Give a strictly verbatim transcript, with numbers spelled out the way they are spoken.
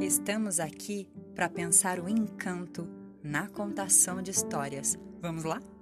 Estamos aqui para pensar o encanto na contação de histórias. Vamos lá?